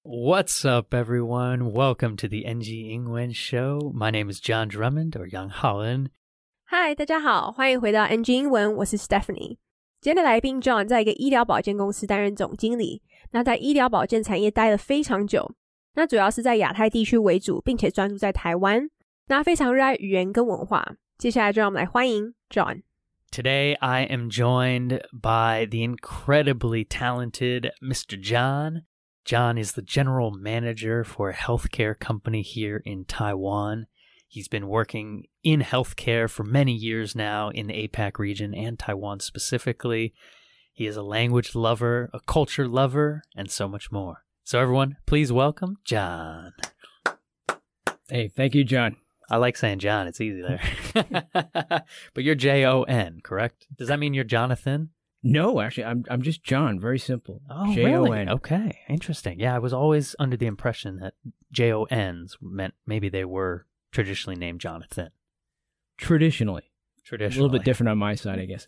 What's up, everyone? Welcome to the NG 英文 Show. My name is John Drummond, or Young Holland. Hi, 大家好，歡迎回到 NG 英文，我是 Stephanie。今天的來賓 John 在一個醫療保健公司擔任總經理，那在醫療保健產業待了非常久，那主要是在亞太地區為主，並且專注在台灣，那非常熱愛語言跟文化。接下來就讓我們來歡迎 John。 Today, I am joined by the incredibly talented Mr. John. John is the general manager for a healthcare company here in Taiwan. He's been working in healthcare for many years now in the APAC region and Taiwan specifically. He is a language lover, a culture lover, and so much more. So everyone, please welcome John. Hey, thank you, John. I like saying John. It's easy there. But you're J-O-N, correct? Does that mean you're Jonathan? No, actually, I'm just John. Very simple. Oh, J-O-N. really? Okay, interesting. Yeah, I was always under the impression that J-O-Ns meant maybe they were traditionally named Jonathan. Traditionally. A little bit different on my side, I guess.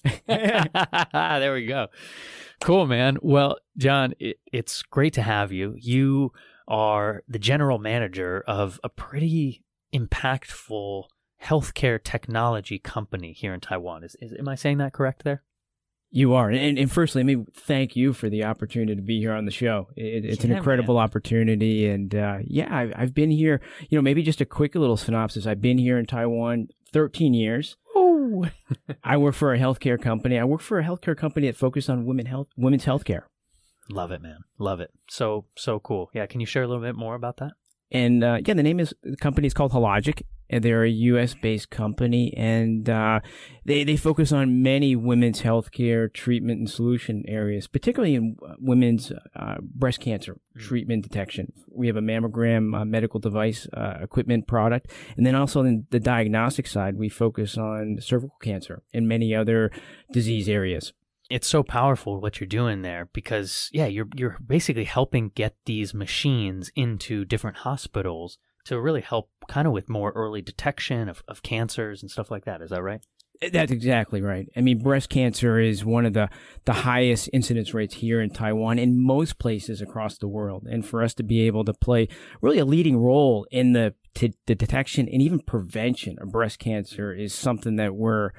There we go. Cool, man. Well, John, it's great to have you. You are the general manager of a pretty impactful healthcare technology company here in Taiwan. Am I saying that correct there? You are. And firstly, let me thank you for the opportunity to be here on the show. It's an incredible opportunity. And I've been here, maybe just a quick little synopsis. I've been here in Taiwan 13 years. Oh. I work for a healthcare company. I work for a healthcare company that focuses on women's healthcare. Love it, man. Love it. So cool. Yeah. Can you share a little bit more about that? And the company is called Hologic, and they're a U.S.-based company, and they focus on many women's healthcare treatment and solution areas, particularly in women's breast cancer treatment detection. We have a mammogram medical device equipment product, and then also in the diagnostic side, we focus on cervical cancer and many other disease areas. It's so powerful what you're doing there because, you're basically helping get these machines into different hospitals to really help kind of with more early detection of cancers and stuff like that. Is that right? That's exactly right. I mean, breast cancer is one of the highest incidence rates here in Taiwan in most places across the world. And for us to be able to play really a leading role in the detection and even prevention of breast cancer is something that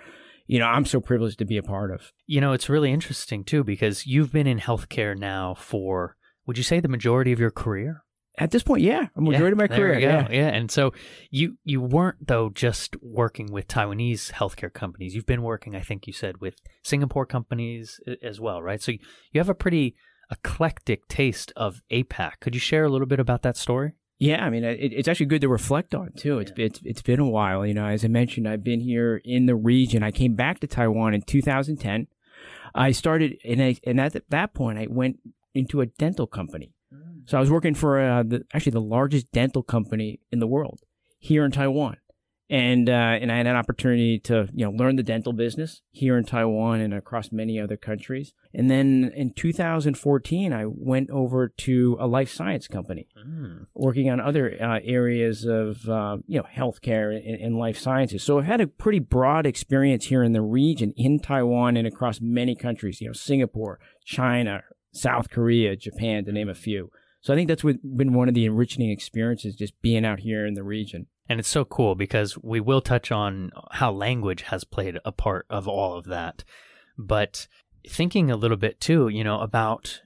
I'm so privileged to be a part of. It's really interesting, too, because you've been in healthcare now for, would you say, the majority of your career? At this point, a majority of my career. Yeah. And so you weren't, though, just working with Taiwanese healthcare companies. You've been working, I think you said, with Singapore companies as well, right? So you have a pretty eclectic taste of APAC. Could you share a little bit about that story? Yeah, I mean, it's actually good to reflect on, too. It's been a while. As I mentioned, I've been here in the region. I came back to Taiwan in 2010. I started, and at that point, I went into a dental company. So I was working for the largest dental company in the world here in Taiwan. And I had an opportunity to, learn the dental business here in Taiwan and across many other countries. And then in 2014, I went over to a life science company working on other areas of, healthcare and life sciences. So I've had a pretty broad experience here in the region, in Taiwan and across many countries, Singapore, China, South Korea, Japan, to name a few. So I think that's been one of the enriching experiences, just being out here in the region. And it's so cool because we will touch on how language has played a part of all of that. But thinking a little bit too, about,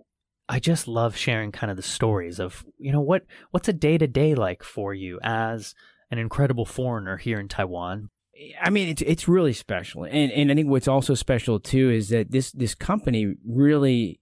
I just love sharing kind of the stories of, what's a day-to-day like for you as an incredible foreigner here in Taiwan? I mean, it's really special. And I think what's also special too is that this company really,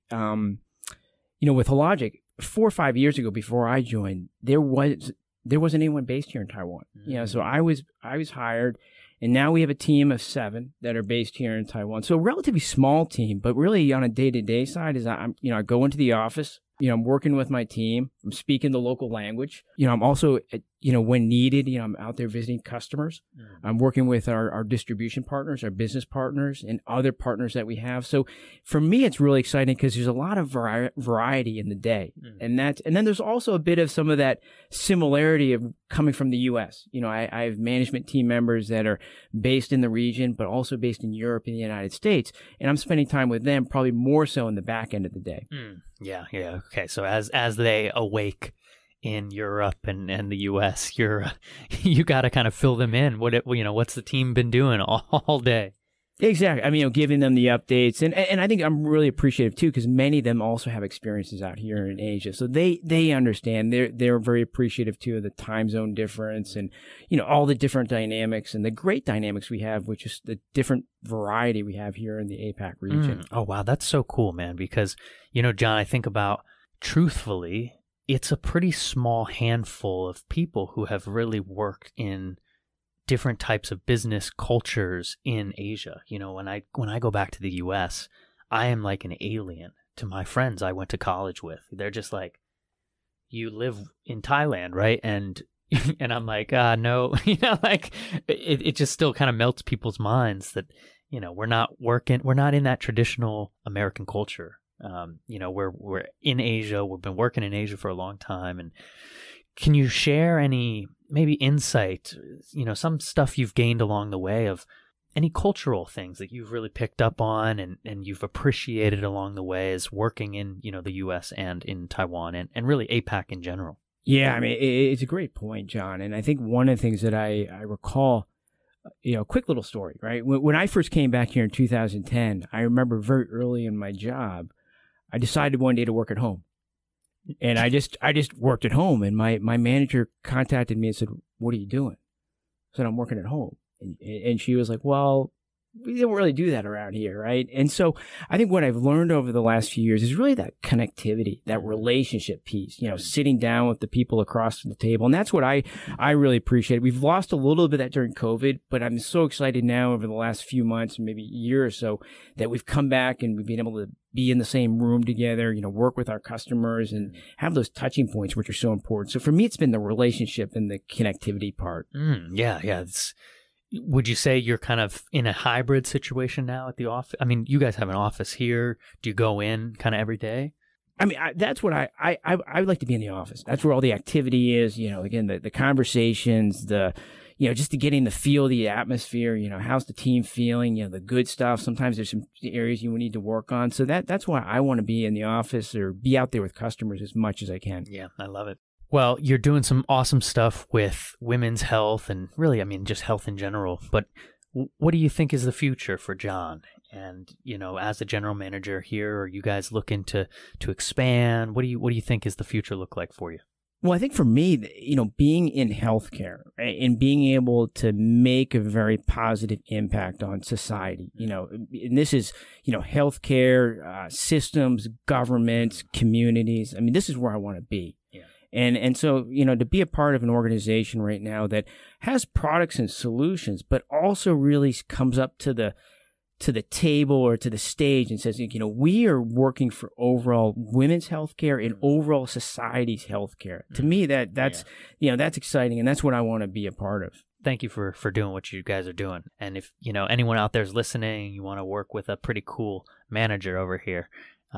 with Hologic, 4 or 5 years ago before I joined, there wasn't anyone based here in Taiwan. So I was hired, and now we have a team of 7 that are based here in Taiwan. So a relatively small team, but really on a day-to-day side is I go into the office, I'm working with my team, I'm speaking the local language. I'm also when needed, I'm out there visiting customers. I'm working with our distribution partners, our business partners, and other partners that we have. So for me, it's really exciting because there's a lot of variety in the day. And then there's also a bit of some of that similarity of coming from the U.S. I have management team members that are based in the region, but also based in Europe and the United States. And I'm spending time with them probably more so in the back end of the day. Yeah. Okay. So as they awake in Europe and the U.S., you got to kind of fill them in. What's the team been doing all day? Exactly. I mean, giving them the updates, and I think I'm really appreciative too because many of them also have experiences out here in Asia, so they understand. They're very appreciative too of the time zone difference and all the different dynamics and the great dynamics we have, which is the different variety we have here in the APAC region. Oh wow, that's so cool, man. Because John, I think about truthfully, it's a pretty small handful of people who have really worked in different types of business cultures in Asia. When I go back to the US, I am like an alien to my friends I went to college with. They're just like, you live in Thailand, right? And I'm like, no, it just still kind of melts people's minds that, we're not in that traditional American culture. We're in Asia. We've been working in Asia for a long time. And can you share any maybe insight, some stuff you've gained along the way of any cultural things that you've really picked up on and you've appreciated along the way as working in, the U.S. and in Taiwan and really APAC in general? Yeah, I mean, it's a great point, John. And I think one of the things that I recall, quick little story, right? When I first came back here in 2010, I remember very early in my job, I decided one day to work at home. And I just worked at home, and my manager contacted me and said, "What are you doing?" I said, "I'm working at home." And she was like, "Well, we don't really do that around here, right?" And so I think what I've learned over the last few years is really that connectivity, that relationship piece, sitting down with the people across the table. And that's what I really appreciate. We've lost a little bit of that during COVID, but I'm so excited now over the last few months, maybe a year or so, that we've come back and we've been able to be in the same room together, work with our customers and have those touching points, which are so important. So for me, it's been the relationship and the connectivity part. Yeah. Would you say you're kind of in a hybrid situation now at the office? I mean, you guys have an office here. Do you go in kind of every day? I mean, that's what I would like to be in the office. That's where all the activity is, again, the conversations, just to getting the feel, the atmosphere, how's the team feeling, the good stuff. Sometimes there's some areas you need to work on. So that's why I want to be in the office or be out there with customers as much as I can. Yeah, I love it. Well, you're doing some awesome stuff with women's health and really, I mean, just health in general. But what do you think is the future for John? And, as a general manager here, are you guys looking to expand? What do you think is the future look like for you? Well, I think for me, being in healthcare, right, and being able to make a very positive impact on society, and this is, healthcare, systems, governments, communities. I mean, this is where I want to be. Yeah. And so, to be a part of an organization right now that has products and solutions, but also really comes up to the table or to the stage and says, we are working for overall women's healthcare and overall society's healthcare. To me, that's exciting, and that's what I want to be a part of. Thank you for doing what you guys are doing. And if, anyone out there is listening, you want to work with a pretty cool manager over here,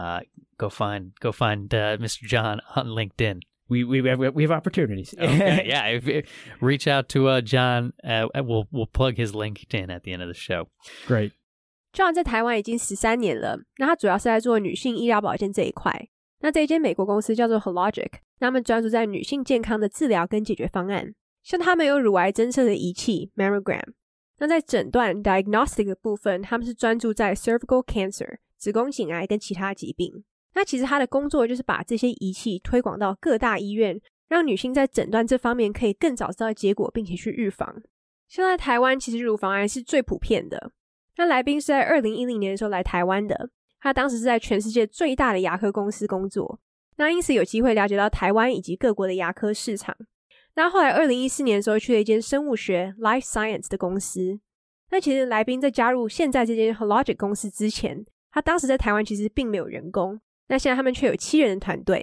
go find Mr. John on LinkedIn. We have opportunities. Okay, yeah. Reach out to John. We'll plug his LinkedIn at the end of the show. Great. John 在台灣已經13年了，那他主要是在做女性醫療保健這一塊。那這一間美國公司叫做 Hologic， 那他們專注在女性健康的治療跟解決方案。像他們有乳癌偵測的儀器 Mammogram， 那在診斷 diagnostic 的部分，他們是專注在 cervical cancer 子宮頸癌跟其他疾病。那其實他的工作就是把這些儀器推廣到各大醫院，讓女性在診斷這方面可以更早知道結果，並且去預防。像在台灣，其實乳房癌是最普遍的。那來賓是在2010年的時候來台灣的，他當時是在全世界最大的牙科公司工作，那因此有機會了解到台灣以及各國的牙科市場。那後來2014年的時候去了一間生物學 Life Science 的公司。那其實來賓在加入現在這間 Hologic 公司之前，他當時在台灣其實並沒有員工，那現在他們卻有7人的團隊。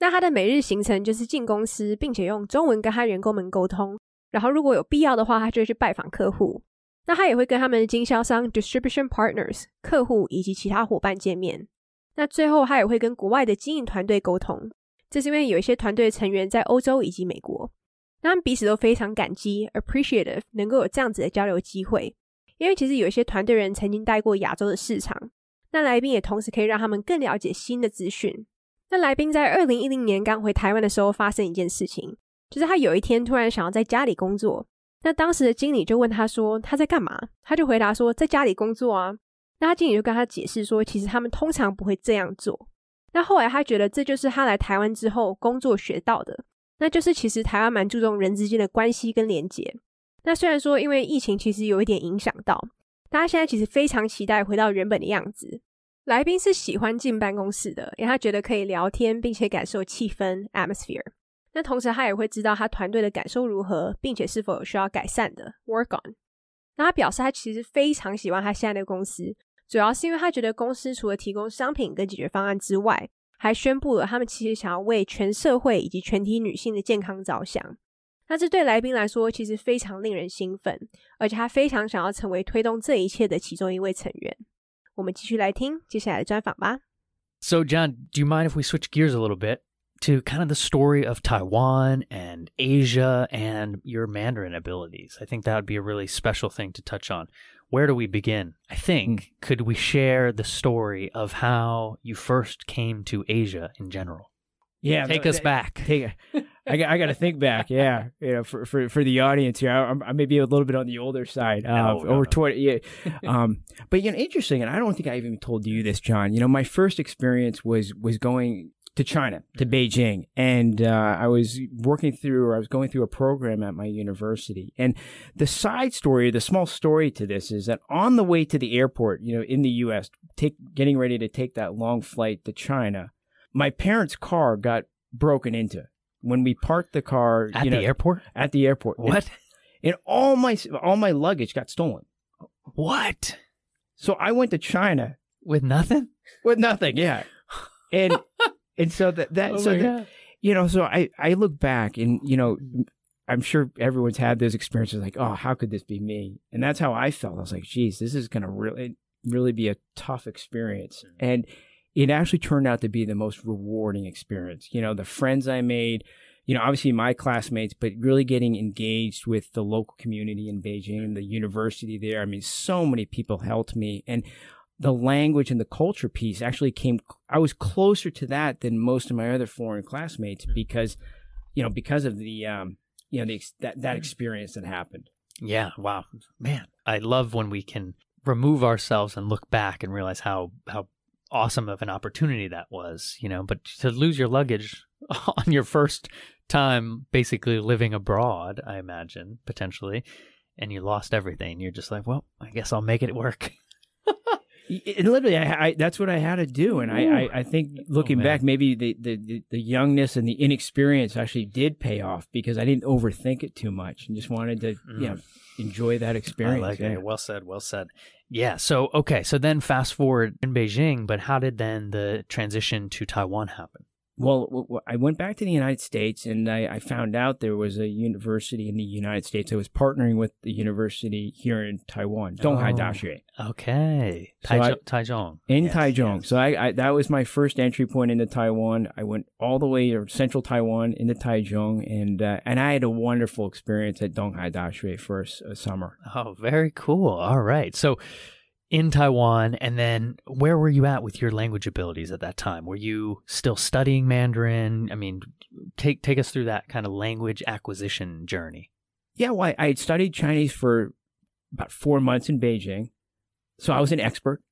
那他的每日行程就是進公司，並且用中文跟他員工們溝通，然後如果有必要的話，他就會去拜訪客戶。那他也會跟他們的經銷商 distribution partners 客戶以及其他夥伴見面。那最後他也會跟國外的經營團隊溝通，這是因為有一些團隊成員在歐洲以及美國，那他們彼此都非常感激 appreciative 能夠有這樣子的交流機會，因為其實有一些團隊人曾經待過亞洲的市場，那來賓也同時可以讓他們更了解新的資訊。那來賓在2010年剛回台灣的時候發生一件事情，就是他有一天突然想要在家裡工作，那當時的經理就問他說他在幹嘛，他就回答說在家裡工作啊。那他经理就跟他解釋說其實他們通常不會這樣做。那後來他覺得這就是他來台灣之後工作學到的，那就是其實台灣蠻注重人之間的關係跟連結。那雖然說因為疫情其實有一點影響到，大家現在其實非常期待回到原本的樣子。來賓是喜歡進辦公室的，因為他覺得可以聊天並且感受氣氛 atmosphere。那同時他也會知道他團隊的感受如何，並且是否有需要改善的 work on。那他表示他其實非常喜歡他現在的公司，主要是因為他覺得公司除了提供商品跟解決方案之外，還宣布了他們其實想要為全社會以及全體女性的健康着想。那這對來賓來說其實非常令人興奮，而且他非常想要成為推動這一切的其中一位成員。我們繼續來聽接下來的專訪吧。 So, John, do you mind if we switch gears a little bit to kind of the story of Taiwan and Asia and your Mandarin abilities? I think that would be a really special thing to touch on. Where do we begin? I think, could we share the story of how you first came to Asia in general? Yeah, Take us back. I got to think back. Yeah, you know, for the audience here, I may be a little bit on the older side. No. 20. Yeah. But you know, interesting, and I don't think I even told you this, John. You know, my first experience was going to China, to Beijing, and I was going through a program at my university. And the side story, the small story to this is that on the way to the airport, you know, in the U.S., getting ready to take that long flight to China, my parents' car got broken into. When we parked the car At the airport? At the airport. What? And all my luggage got stolen. What? So I went to China with nothing? With nothing, yeah. And so you know, so I look back and, you know, I'm sure everyone's had those experiences like, oh, how could this be me? And that's how I felt. I was like, geez, this is going to really be a tough experience. And it actually turned out to be the most rewarding experience. You know, the friends I made, you know, obviously my classmates, but really getting engaged with the local community in Beijing, the university there. I mean, so many people helped me. And the language and the culture piece actually I was closer to that than most of my other foreign classmates because of the, that experience that happened. Yeah. Wow. Man, I love when we can remove ourselves and look back and realize how awesome of an opportunity that was, you know, but to lose your luggage on your first time basically living abroad, I imagine, potentially, and you lost everything. You're just like, well, I guess I'll make it work. And literally, that's what I had to do. And I think looking back, maybe the youngness and the inexperience actually did pay off because I didn't overthink it too much and just wanted to, you know, enjoy that experience. I like it. Well said. Well said. Yeah. So, okay. So then fast forward in Beijing, but how did then the transition to Taiwan happen? Well, I went back to the United States and I found out there was a university in the United States that was partnering with the university here in Taiwan, Donghai Daxue. Okay. Taichung. In Taichung. Yes. So I that was my first entry point into Taiwan. I went all the way to central Taiwan into Taichung and I had a wonderful experience at Donghai Daxue for a summer. Oh, very cool. All right. So in Taiwan, and then where were you at with your language abilities at that time? Were you still studying Mandarin? I mean, take us through that kind of language acquisition journey. Yeah, well, I had studied Chinese for about 4 months in Beijing, so I was an expert.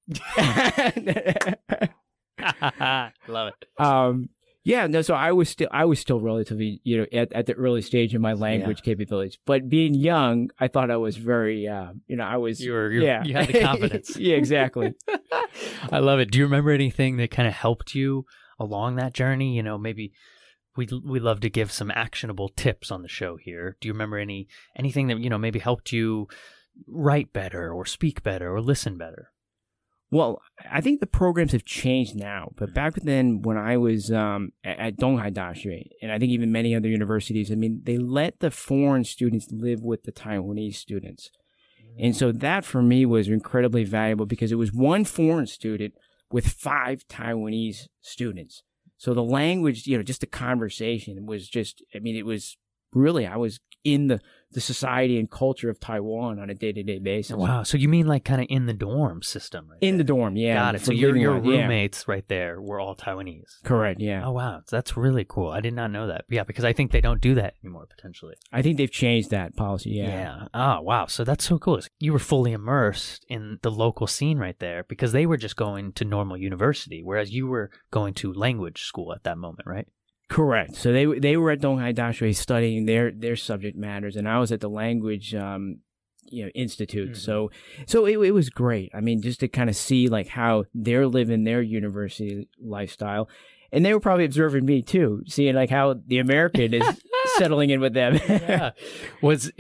Love it. Yeah, no. So I was still relatively, you know, at the early stage of my language capabilities. But being young, I thought I was very, you know, I was. You had the confidence. Yeah, exactly. I love it. Do you remember anything that kind of helped you along that journey? You know, maybe we love to give some actionable tips on the show here. Do you remember anything that, you know, maybe helped you write better or speak better or listen better? Well, I think the programs have changed now, but back then when I was at Donghai Daxue, and I think even many other universities, I mean, they let the foreign students live with the Taiwanese students. And so that for me was incredibly valuable because it was one foreign student with 5 Taiwanese students. So the language, just the conversation was just, I mean, it was really, I was in the society and culture of Taiwan on a day-to-day basis. Wow. So you mean like kind of in the dorm system? Right in the dorm, yeah. Got it. So your roommates right there were all Taiwanese? Correct, yeah. Oh, wow. That's really cool. I did not know that. Yeah, because I think they don't do that anymore, potentially. I think they've changed that policy, yeah. Yeah. Oh, wow. So that's so cool. You were fully immersed in the local scene right there because they were just going to normal university, whereas you were going to language school at that moment, right? Correct. So they were at Donghai Daxue studying their subject matters, and I was at the language institute. So it was great. I mean, just to kind of see like how they're living their university lifestyle, and they were probably observing me too, seeing like how the American is settling in with them. Yeah. Do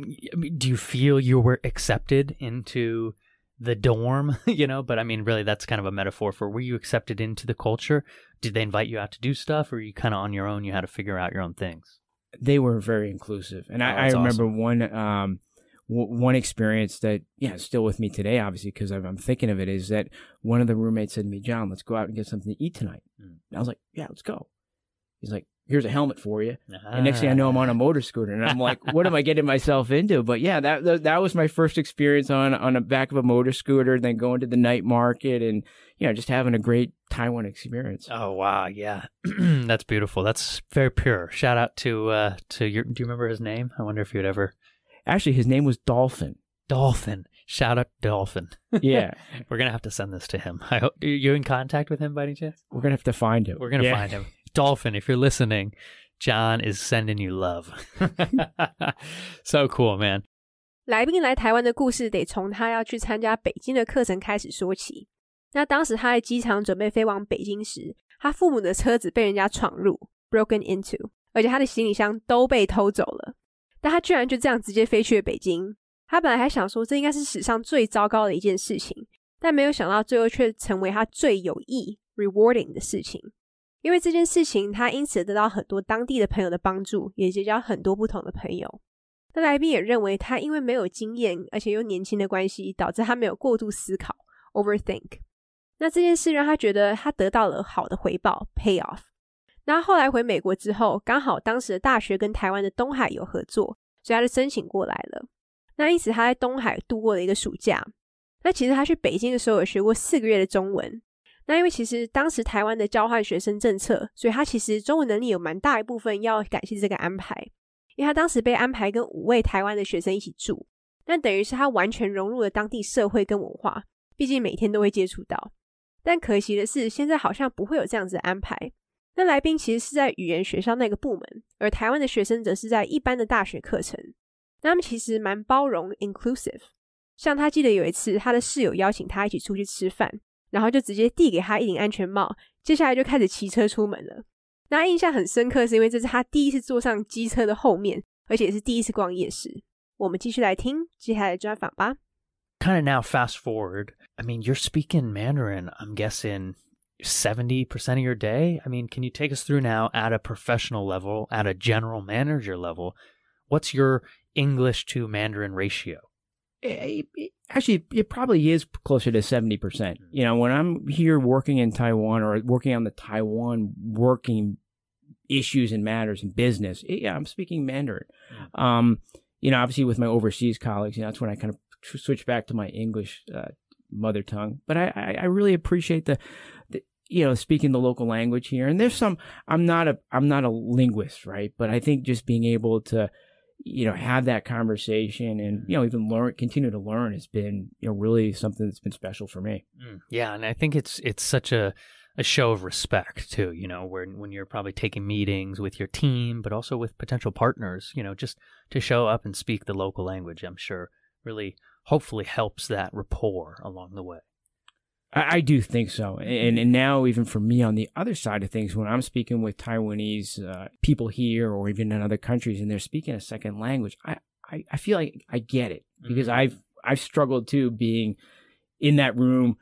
you feel you were accepted into the dorm, but I mean, really, that's kind of a metaphor for, were you accepted into the culture? Did they invite you out to do stuff, or were you kind of on your own? You had to figure out your own things? They were very inclusive. And I remember awesome. One experience that, is still with me today, obviously, because I'm thinking of it, is that one of the roommates said to me, John, let's go out and get something to eat tonight. And I was like, yeah, let's go. He's like, here's a helmet for you. And next thing I know, I'm on a motor scooter. And I'm like, what am I getting myself into? But yeah, that was my first experience on the back of a motor scooter, then going to the night market and, just having a great Taiwan experience. Oh, wow. Yeah. That's beautiful. That's very pure. Shout out to do you remember his name? I wonder if you'd ever. Actually, his name was Dolphin. Dolphin. Shout out Dolphin. Yeah. We're going to have to send this to him. I hope. Are you in contact with him by any chance? We're going to have to find him. We're going to find him. Dolphin, if you're listening, John is sending you love. So cool, man. 來賓來台灣的故事得從他要去參加北京的課程開始說起。那當時他在機場準備飛往北京時，他父母的車子被人家闖入 broken into， 而且他的行李箱都被偷走了。但他居然就這樣直接飛去了北京。他本來還想說這應該是史上最糟糕的一件事情，但沒有想到最後卻成為他最有益 rewarding 的事情。因為這件事情，他因此得到很多當地的朋友的幫助，也結交很多不同的朋友。那來賓也認為他因為沒有經驗，而且又年輕的關係，導致他沒有過度思考 overthink。那這件事讓他覺得他得到了好的回報 payoff。那後來回美國之後，剛好當時的大學跟台灣的東海有合作，所以他就申請過來了。那因此他在東海度過了一個暑假。那其實他去北京的時候有學過4個月的中文。那因為其實當時台灣的交換學生政策，所以他其實中文能力有蠻大一部分要感謝這個安排。因為他當時被安排跟5位台灣的學生一起住，那等於是他完全融入了當地社會跟文化，畢竟每天都會接觸到。但可惜的是，現在好像不會有這樣子的安排。那來賓其實是在語言學校那個部門，而台灣的學生則是在一般的大學課程。那他們其實蠻包容 inclusive。像他記得有一次，他的室友邀請他一起出去吃飯，然後就直接遞給他一頂安全帽，接下來就開始騎車出門了。那他印象很深刻，是因為這是他第一次坐上機車的後面，而且也是第一次逛夜市。我們繼續來聽接下來的專訪吧。 Kind of now fast forward, I mean, you're speaking Mandarin, I'm guessing 70% of your day? I mean, can you take us through now at a professional level, at a general manager level? What's your English to Mandarin ratio? Actually, it probably is closer to 70%. When I'm here working in Taiwan or working on the Taiwan working issues and matters in business, I'm speaking Mandarin. Obviously with my overseas colleagues, that's when I kind of switch back to my English mother tongue. But I really appreciate the speaking the local language here. And there's some, I'm not a linguist, right? But I think just being able to, have that conversation and, even continue to learn has been, really something that's been special for me. Yeah. And I think it's such a show of respect too, when you're probably taking meetings with your team, but also with potential partners, just to show up and speak the local language, I'm sure really hopefully helps that rapport along the way. I do think so. And now even for me on the other side of things, when I'm speaking with Taiwanese people here or even in other countries and they're speaking a second language, I feel like I get it because I've struggled too being in that room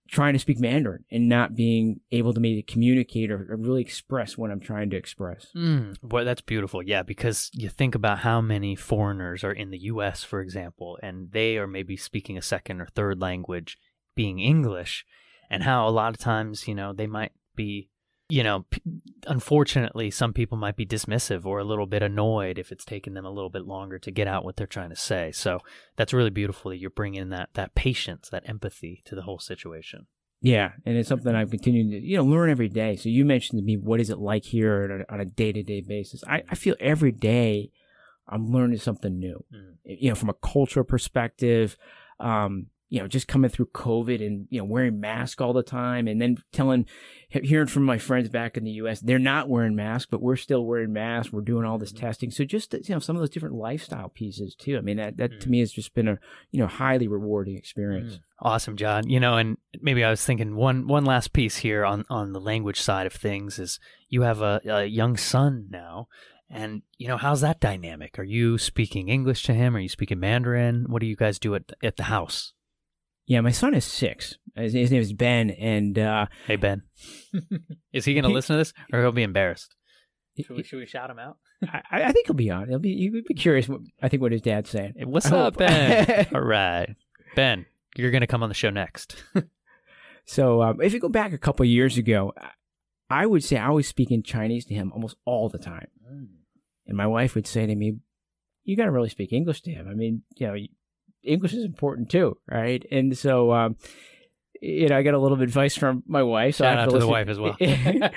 trying to speak Mandarin and not being able to maybe communicate or really express what I'm trying to express. Boy, that's beautiful. Yeah, because you think about how many foreigners are in the U.S., for example, and they are maybe speaking a second or third language, being English, and how a lot of times, they might be, unfortunately, some people might be dismissive or a little bit annoyed if it's taken them a little bit longer to get out what they're trying to say. So that's really beautiful that you're bringing that patience, that empathy to the whole situation. Yeah, and it's something I've continued to, learn every day. So you mentioned to me, what is it like here on a day-to-day basis? I feel every day I'm learning something new, from a cultural perspective, just coming through COVID and, wearing masks all the time, and then hearing from my friends back in the U.S., they're not wearing masks, but we're still wearing masks. We're doing all this testing. So just, some of those different lifestyle pieces too. I mean, that to me has just been a, highly rewarding experience. Awesome, John. And maybe I was thinking one last piece here on the language side of things is you have a young son now. And, how's that dynamic? Are you speaking English to him? Are you speaking Mandarin? What do you guys do at the house? Yeah, my son is 6. His name is Ben, and hey, Ben. Is he going to listen to this, or he'll be embarrassed? Should we shout him out? I think he'll be on. He'll be curious. What his dad's saying. Hey, what's up, Ben? All right, Ben, you're going to come on the show next. So, if you go back a couple of years ago, I would say I was speaking Chinese to him almost all the time, and my wife would say to me, "You got to really speak English to him." I mean, English is important too, right? And so, I got a little bit of advice from my wife. So Shout out to the wife as well.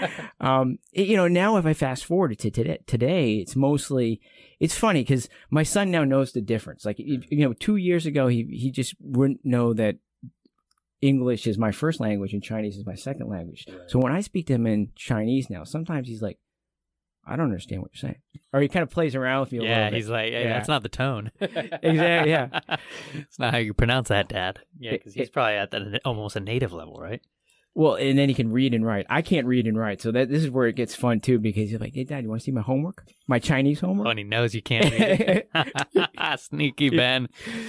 Now if I fast forward to today, it's funny because my son now knows the difference. Like, 2 years ago, he just wouldn't know that English is my first language and Chinese is my second language. Right. So when I speak to him in Chinese now, sometimes he's like, I don't understand what you're saying. Or he kind of plays around with me a little bit. He's like, hey, that's not the tone. Exactly, yeah. It's not how you pronounce that, Dad. Yeah, because he's probably at almost a native level, right? Well, and then he can read and write. I can't read and write, so this is where it gets fun, too, because he's like, hey, Dad, you want to see my homework? My Chinese homework? Oh, and he knows you can't read it. Sneaky Ben.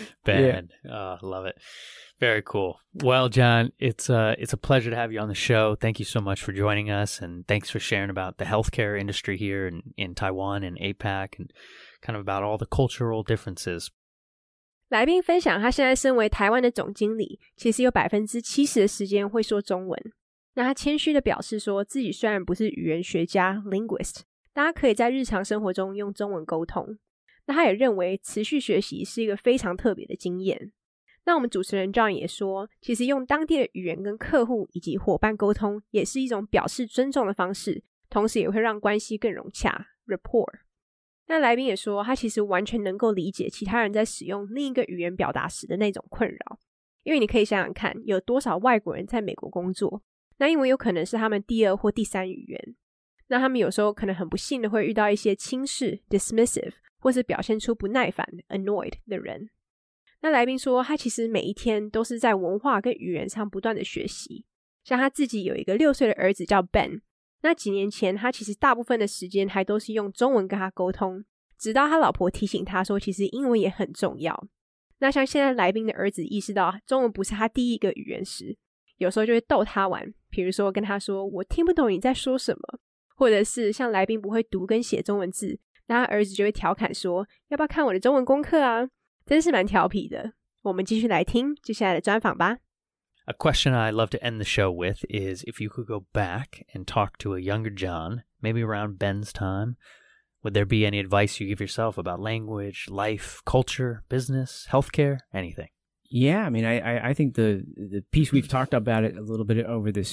Ben. Yeah. Oh, love it. Very cool. Well, John, it's a pleasure to have you on the show. Thank you so much for joining us, and thanks for sharing about the healthcare industry here in Taiwan and APAC, and kind of about all the cultural differences. 來賓分享，他現在身為台灣的總經理，其實有70%的時間會說中文。那他謙虛的表示說，自己雖然不是語言學家 linguist， 但他可以在日常生活中用中文溝通。那他也認為持續學習是一個非常特別的經驗。那我們主持人 John 也說，其實用當地的語言跟客戶以及夥伴溝通，也是一種表示尊重的方式，同時也會讓關係更融洽 rapport。那來賓也說，他其實完全能夠理解其他人在使用另一個語言表達時的那種困擾，因為你可以想想看，有多少外國人在美國工作，那英文有可能是他們第2或第3語言，那他們有時候可能很不幸的會遇到一些輕視 dismissive 或是表現出不耐煩 annoyed 的人。那來賓說，他其實每一天都是在文化跟語言上不斷的學習，像他自己有一個6歲的兒子叫 Ben， 那幾年前他其實大部分的時間還都是用中文跟他溝通，直到他老婆提醒他說其實英文也很重要。那像現在來賓的兒子意識到中文不是他第一個語言時，有時候就會逗他玩，比如說跟他說我聽不懂你在說什麼，或者是像來賓不會讀跟寫中文字，那他兒子就會調侃說要不要看我的中文功課啊，真是蠻調皮的。我們繼續來聽接下來的專訪吧。 A question I love to end the show with is if you could go back and talk to a younger John, maybe around Ben's time, would there be any advice you give yourself about language, life, culture, business, healthcare, anything? Yeah, I mean, I think the piece we've talked about it a little bit over this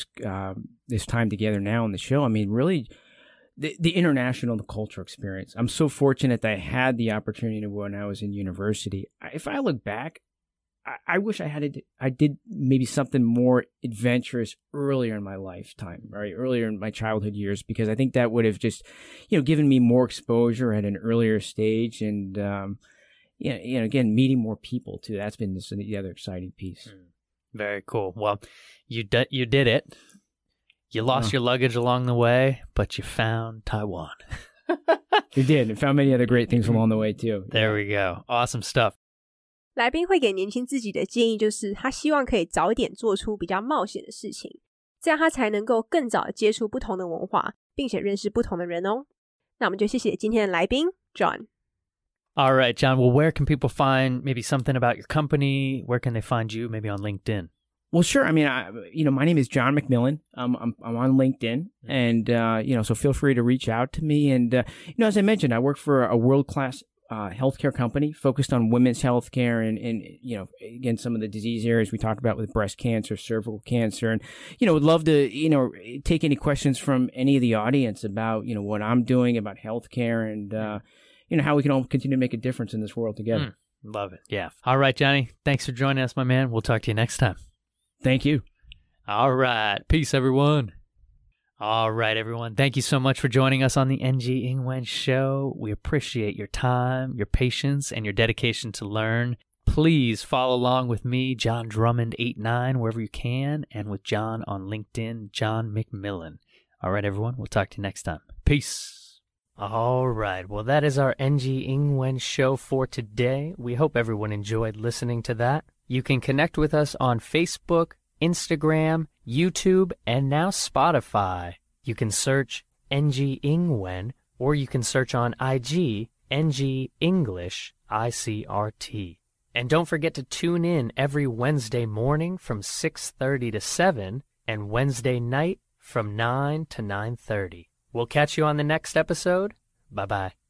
time together now on the show. I mean, really, the international, the cultural experience. I'm so fortunate that I had the opportunity when I was in university. If I look back, I wish I did maybe something more adventurous earlier in my lifetime, right? Earlier in my childhood years, because I think that would have just, given me more exposure at an earlier stage, and again, meeting more people too. That's been the other exciting piece. Very cool. Well, you did it. You lost your luggage along the way, but you found Taiwan. We did, and found many other great things along the way too. There we go. Awesome stuff. 來賓會給年輕自己的建議就是他希望可以早一點做出比較冒險的事情，這樣他才能夠更早的接觸不同的文化，並且認識不同的人哦。那我們就謝謝今天的來賓 John。All right, John. Well, where can people find maybe something about your company? Where can they find you? Maybe on LinkedIn. Well, sure. I mean, my name is John McMillan. I'm on LinkedIn, and so feel free to reach out to me. And as I mentioned, I work for a world-class healthcare company focused on women's healthcare, and again, some of the disease areas we talked about with breast cancer, cervical cancer, and would love to take any questions from any of the audience about what I'm doing about healthcare and how we can all continue to make a difference in this world together. Love it. Yeah. All right, Johnny. Thanks for joining us, my man. We'll talk to you next time. Thank you. All right. Peace, everyone. All right, everyone. Thank you so much for joining us on the NG Ingwen Show. We appreciate your time, your patience, and your dedication to learn. Please follow along with me, John Drummond 89, wherever you can, and with John on LinkedIn, John McMillan. All right, everyone. We'll talk to you next time. Peace. All right. Well, that is our NG Ingwen Show for today. We hope everyone enjoyed listening to that. You can connect with us on Facebook, Instagram, YouTube, and now Spotify. You can search NG Ingwen, or you can search on IG, NG English, ICRT. And don't forget to tune in every Wednesday morning from 6:30 to 7, and Wednesday night from 9 to 9:30. We'll catch you on the next episode. Bye-bye.